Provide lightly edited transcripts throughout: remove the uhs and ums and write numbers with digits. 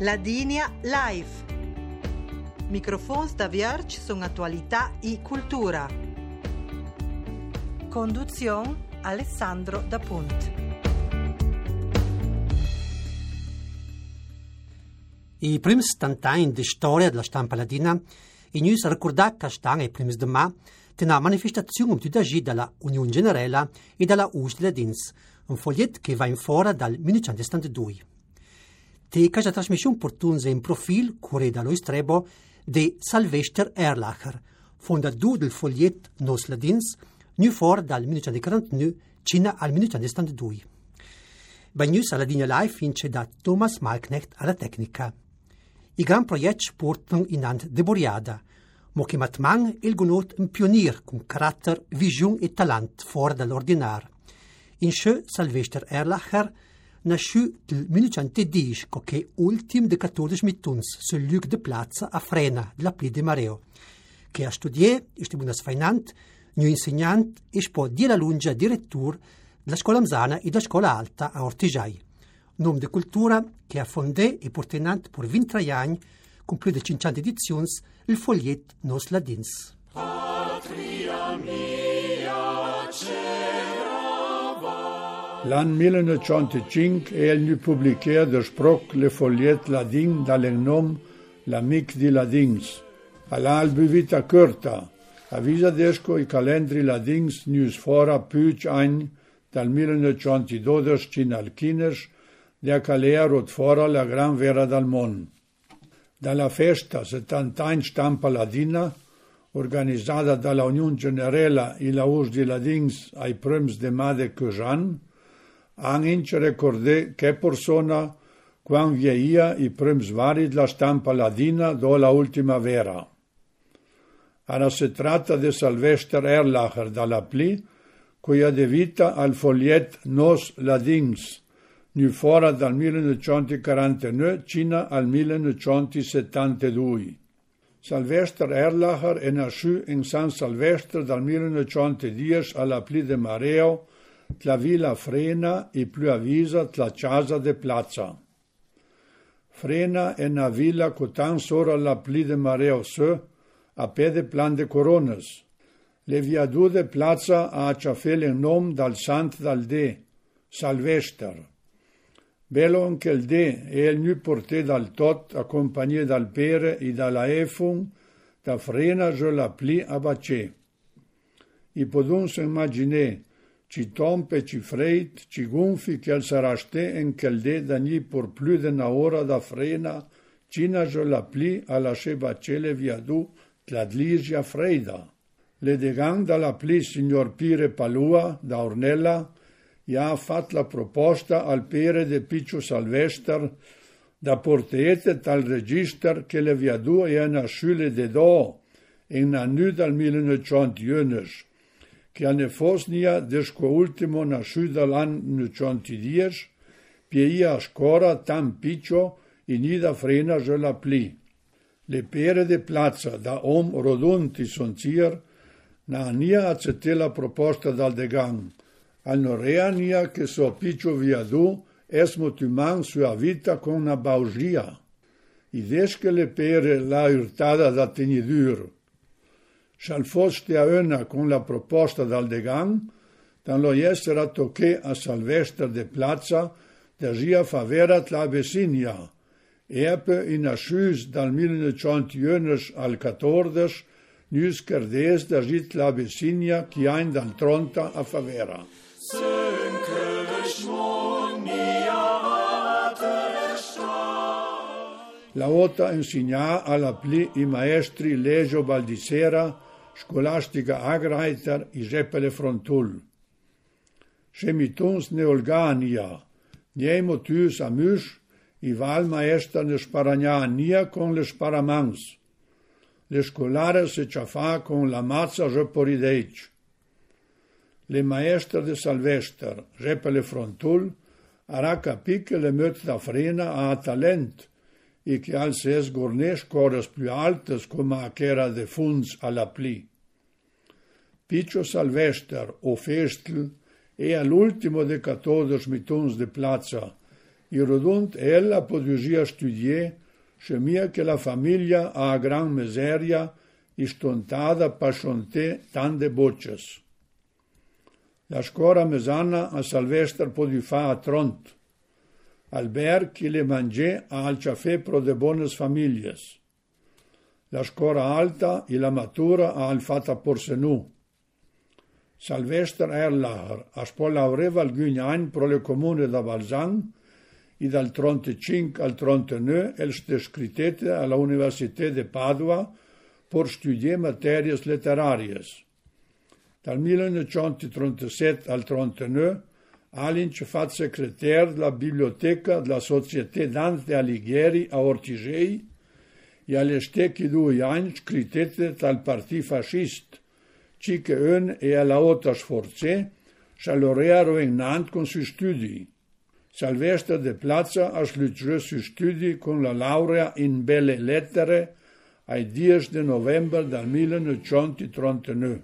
Ladinia Live. Microfons da Vierge sono attualità e cultura. Conduzione Alessandro Da Punt. I primi 70 anni di storia della stampa ladina in a ricordare che stanno i primi di mai di una manifestazione di agì dalla Unione Generale e dalla US Ladins, un foglietto che va in fora dal 1972. Te casa trasmissione portunse in profilo curé dallo Istrebo di Sylvester Erlacher, fondatore del foglietto Nos Ladins, nu fora dal 1949 fino al 1972. Bagnus alla Ladina Live vince da Thomas Malknecht alla tecnica. I gran progetti portano in hand de Boriada, mo che matman il gonot un pionier con carattere, visione e talent fuori dall'ordinario. In sce Sylvester Erlacher nasce nel 1910 che ultimo de 14 mituns sul luc de Plaza a Frena, della Pli de Mareo, che ha studiato, è stato sfainante, nu insegnante e poi di la lunga direttore della scuola Mzana e della scuola alta a Ortigiai. Nome di cultura che ha fondato e portato per 23 anni, con più di 50 edizioni, il foglietto Nos Ladins. L'anno 1905 è il pubblicato del sproc le fogliette ladin dal nome L'Amic di Ladins. All'alba vita corta, avvisa desco i calendri ladins news fora più anni dal 1912 fino al 15, der calea rot fora la gran vera dal mondo. Dalla festa 70 anni stampa ladina, organizzata dalla Unione Generale e la US di Ladins ai primi de Made Cujan, anche ricordare che persona quando vieia i primi vari della stampa ladina do la ultima vera. Ora si tratta di Sylvester Erlacher dalla Pli, cui ha de vita al foglietto Nos Ladins, nu fora dal 1949 fino al 1972. Sylvester Erlacher è nasciuto in San Silvestre dal 1910 alla Pli de Mareo, la villa Frena e più avvisa la casa de Plaza. Frena è una villa che tan solo alla Pli de Mareo a pede plan de Coronas. Le viadu de Plaza ha acciafele il nome dal sant dal de, Sylvester. Bello anche il de e il nu porté dal tot a compagnia dal pere e dalla efun da Frena je la Pli a Bacè. I podun se immaginer ci tompe, ci freit, ci gonfi che al saraste en quel de d'agni por più de una ora da Frena, cina je la Pli a lasce bacele viadu tladligia freida. Le degan dalla Pli signor Pire Palua da Ornella ja ha fatto la proposta al pere de Piccio Sylvester da portete tal register che le viadu è nasciule de do in annu dal 1911, che anne fosnia desco ultimo nasciuto dall'anno 1910, pieia a scora tan piccio in ida Frena je la Pli. Le pere de Plaza da om rodunti sonzier na nia accette la proposta dal degan, al norea nia che so piccio viadu es motuman sua vita con una baugia. I desche le pere la urtada da tenidur. Shal foste a una con la proposta dal degan, dan lo essere tocche a Sylvester de Plaza da gia favera la vecinia. Epe in ascius dal 1911 al 14, nus cardes da git la vecinia chi ein dal tronta a favera. La ota insegna alla Pli i maestri Legio Baldissera, Scolastica Agreiter e Geppele Frontul. Scemituns neolgania, niemo tus amus, i valmaester ne sparagna con le sparamans. Le scolare se ciafà con la mazza jeporideic. Le maestre de Sylvester, Geppele Frontul, ara capì che le möt da Frena ha talent, e che al ses gornes cores più altes come a chera de funds alla Pli. Piccio Sylvester, o Festl, è all'ultimo de 14 mituns de Plaza, I rodund ella podia studiare, scemia che la famiglia a gran miseria e stontada pascionte tante bocces. La scuola mesana a Salvester podia fa a Tront. Albert che le mangiè al caffè pro de bones famiglie. La scuola alta e la matura al fatta Porsenu. Salvester Erlacher a scuola avreva alcuni anni pro le comune da Balzan e dal 35 al 39 è scrittete alla Università di Padua per studiare materie letterarie. Dal 1937 al 39 Alinc fa segretario della biblioteca della Società Dante Alighieri a Ortigei e alle stecchi 2 anni scrittete dal Partito Fascista, che un e alla Haute Sforze s'allorearo in Nantes con sui studi. Salvester de Plaza ha sluitato sui studi con la laurea in Belle Lettere ai 10 di novembre del 1939.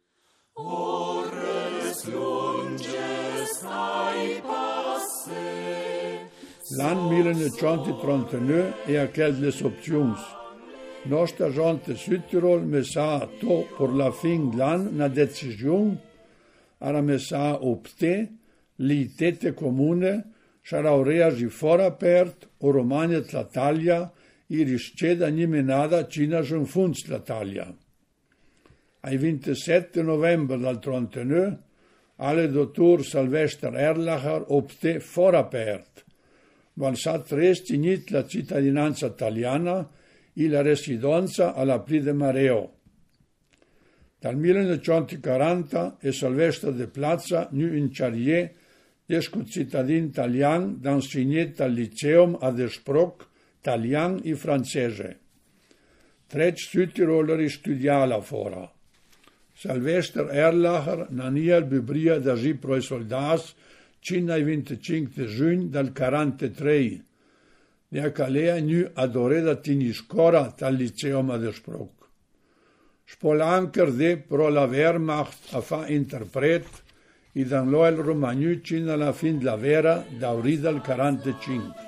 L'anno 1939 è a quelle opzioni. Nostra gente Südtirol messa to per la fin dell'anno una decisione, era messa opte, li tette comune, sarà reagi fuori aperto, o Romagna l'Italia, e risceda nimenada Cina giun funz l'Italia. Ai 27 novembre del 39, alle dottor Salvester Erlacher opte fuori aperto. Valsat resti init la cittadinanza italiana e la residenza alla Pli de Mareo. Dal 1940 è Salvester de Plaza nu in Charrier desco cittadin italian d'insegnet al liceum a Desproc, italian e francese. Trec Südtiroleri studiala fora. Salvester Erlacher nania bubria da gi pro i soldats cina i 25 giugno del 43. Ne calea nu adoreda tiniscora tal liceum a Desproc. Spolanker de pro la Wehrmacht a fa interpret e dan lo el romagnu cina la fin la vera d'aurida del 45.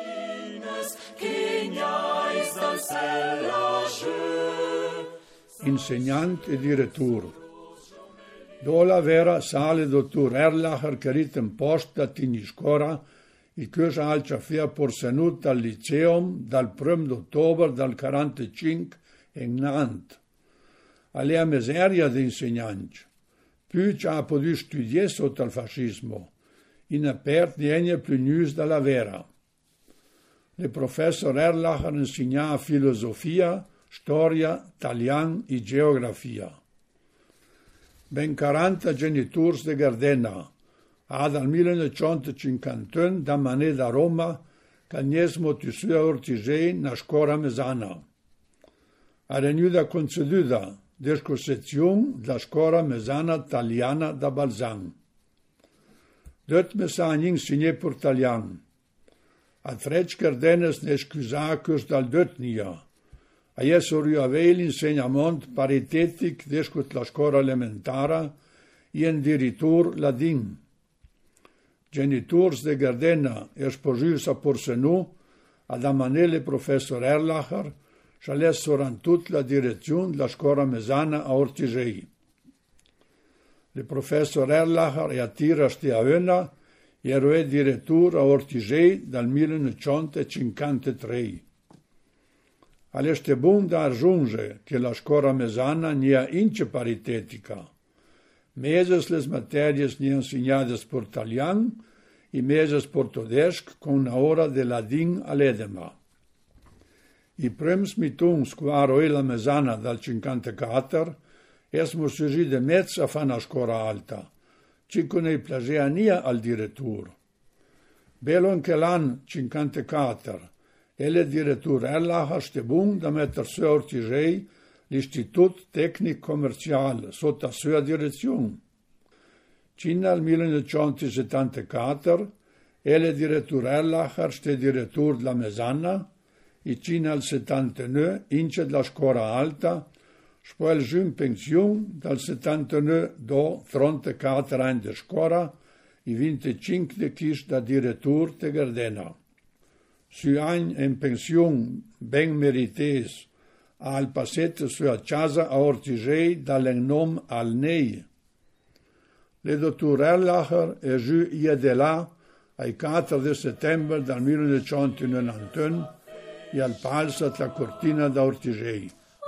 Insegnant e direttur. Do la vera sale dottor Erlacher carit in post da tiniscora e cosa al caffè porsenut al liceum dal 1 d'ottobre del 45 in Nantes. Alea miseria di insegnanti. Più ci ha potuto studiare sotto il fascismo, in aperto niente più news dalla vera. Il professor Erlacher insegnava filosofia, storia, italiano e geografia. Ben 40 genitori di Gardena, dal 1951 da Mané da Roma, cagnesmo di sua Ortigei na scuola mesana. Ha renuda conceduta discussione della scuola mesana italiana da Balzan. Dort mesa insegné per italiano. A trec Gardenes ne scusacus dal dotnia. A jesori avei l'insegnamento paritetic descut la scuola elementare e addirittura ladin. Genitors de Gardena esposus a Porsenu ad amanele professor Erlacher c'allessoran tut la direzione della scuola mesana a Ortigei. Il professor Erlacher e attira stiaöna ero direttore a Ortigei dal 1953. All'este bun da aggiunge che la scuola mesana nia ince paritetica. Meses les materias ni insegnades per italian e meses per tedesc con una ora de ladin all'edema. I prims mitungs quaro e la mesana dal 54 esmo sugi de mezz a fa una scuola alta, cico ne plagea nia al direttur. Bello anche l'an 54 e le direttur Erlacher ste bun da metter su Ortigei l'Istitut Tecnic Commercial sotto sua direzione. Cina al 1974 e le direttur Erlacher ste direttur della mesana e cina al 79 ince della scuola alta, poi giù in pensione dal 79 do 34 anni di scuola i 25 chis da direttur te Gardena. Su any en pensiun ben merites al passet sua casa a Ortigei dall'ennom al Nei. Le dottor Erlacher è giù iedela ai 4 settembre del 1991 e al palsa la cortina da Ortigei.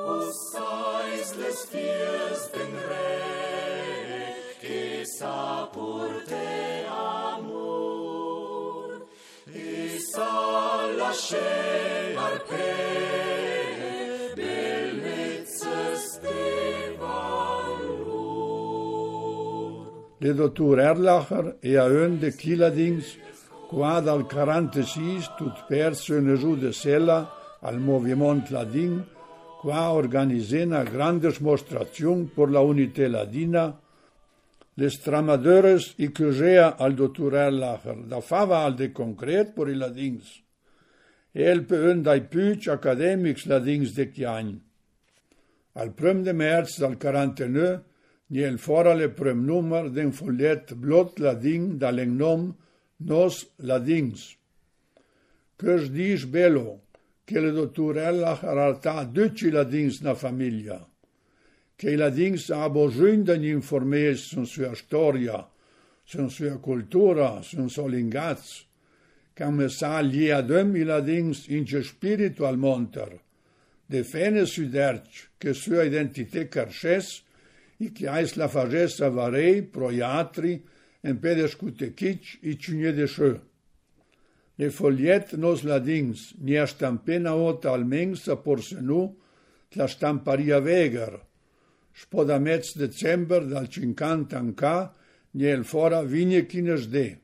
Le dottor Erlacher e a un de Chiladings, qua dal 46 tut perso in giù de sella al movimento ladin, qua organizé una grande mostrazione per la unità ladina. Les tramadores i cugea al dottor Erlacher, da fava al de concret per i ladins. El pe un dai puig academics ladins de chiagn. Al 1 de märz del 49, niel fora le prem nummer den follet blot ladin dall'ennom Nos ladins. Căs dis bello, che le dottor Erlacher arta 12 ladins na famiglia, che i ladins abo giundan informes sun sua storia, sun sua cultura, sun so lingaz, che me sa gli adem i ladins in ce spiritual monter, de fene suderci, che sua identité carces, i che ais la fagessa varei, proiatri, en pedescute kitsch i ciugne de schö. Le foliet nos ladins, nia stampena ota almengs a porsenu, la stamparia veger, spoda mez december dal 50 anca, niel fora vigne chines de.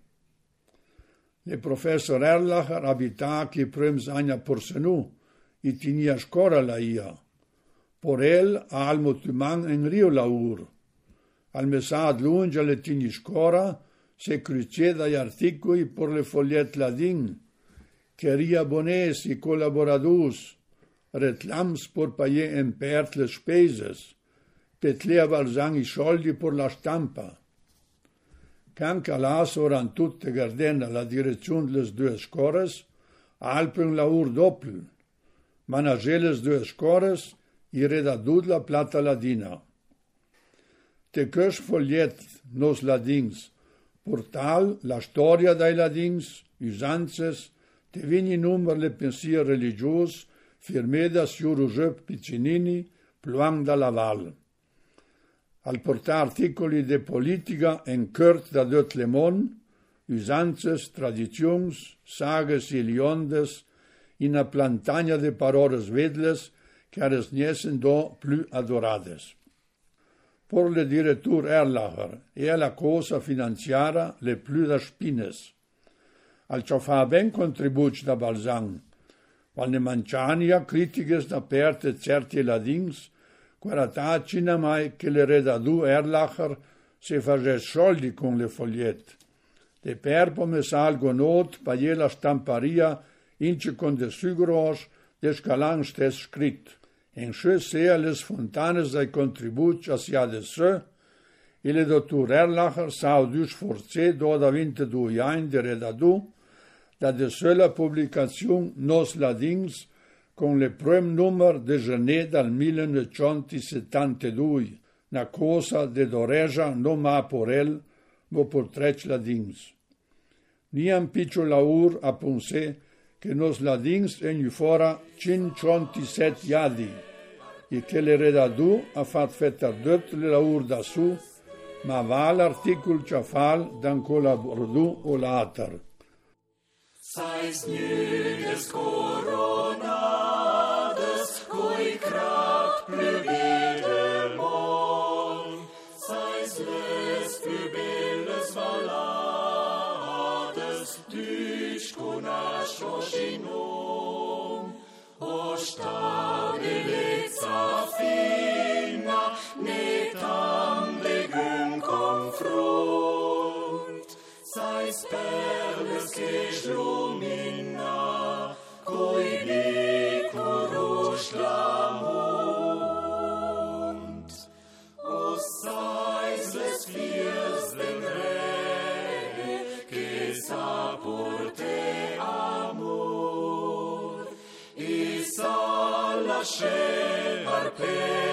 Le professor Erlacher abita chi prems agna porsenu, i tinia scora la ia. Por el a almo tuman en rio laur. Al mesad lunge alle tini scora, se cruce dai articoli por le foliet ladin, che ria bones i collaboradus, retlams por paie en pert le speses, petlea valzang i soldi por la stampa. Can calas oran tutte Gardena la direzione les due scores, alpen laur doppel, manageles due scores, i redadud la plata ladina. Te căs foliet nos ladins, portal la storia dai ladins, usances, te vini număr le pensier religios, firmeda siuru jăp piccinini, pluang da Laval. Al porta articoli de politica en cărt da dot lemon, usances, traditions, sages i liondes, in a plantagna de parores vedles, care niesen do plu adorades. Por le direttur Erlacher e la cosa finanziara le plu da spines. Al ciò fa ben contribuci da Balzang, val ne manciania critiches da perte certi ladins, quarata cina mai che le redadu Erlacher se fages soldi con le foliette. De perpo me salgo not paie la stamparia ince con de sugros de scalan stes scrit. En schö sea les fontanes dai contribuci a sia de sö, e le dottor Erlacher sau dus forze do da 22 ani de redadu, da de sö la publicaziun Nos ladins con le prem nummer de gener dal 1972, na cosa de doreja no ma por el, mo por trec ladins. Niam piccio laur a punse che nos ladins en fora 57 iadi, e che le redadu ha fat fetter dött le laur da su, ma va l'articol ciafal dan collabordu o later. Sais nüdes coronades, coi crat plubide mon, sais les plubelles valades, duc conash o shinum, o stabilitza fina, netam legum confrunt, sais perles che slumina, coi bicurush l'amunt, o sais les fiers den Asher Arpe